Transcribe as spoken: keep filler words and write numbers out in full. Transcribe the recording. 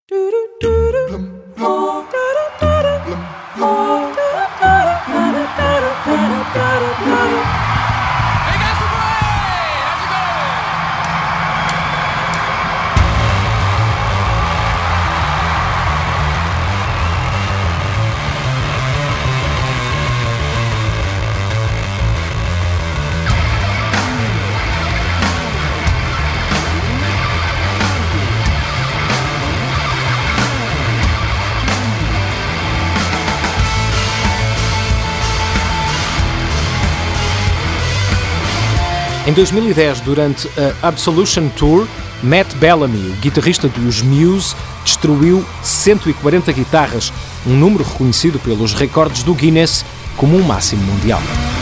Em dois mil e dez, durante a Absolution Tour, Matt Bellamy, o guitarrista dos Muse, destruiu cento e quarenta guitarras, um número reconhecido pelos recordes do Guinness como um máximo mundial.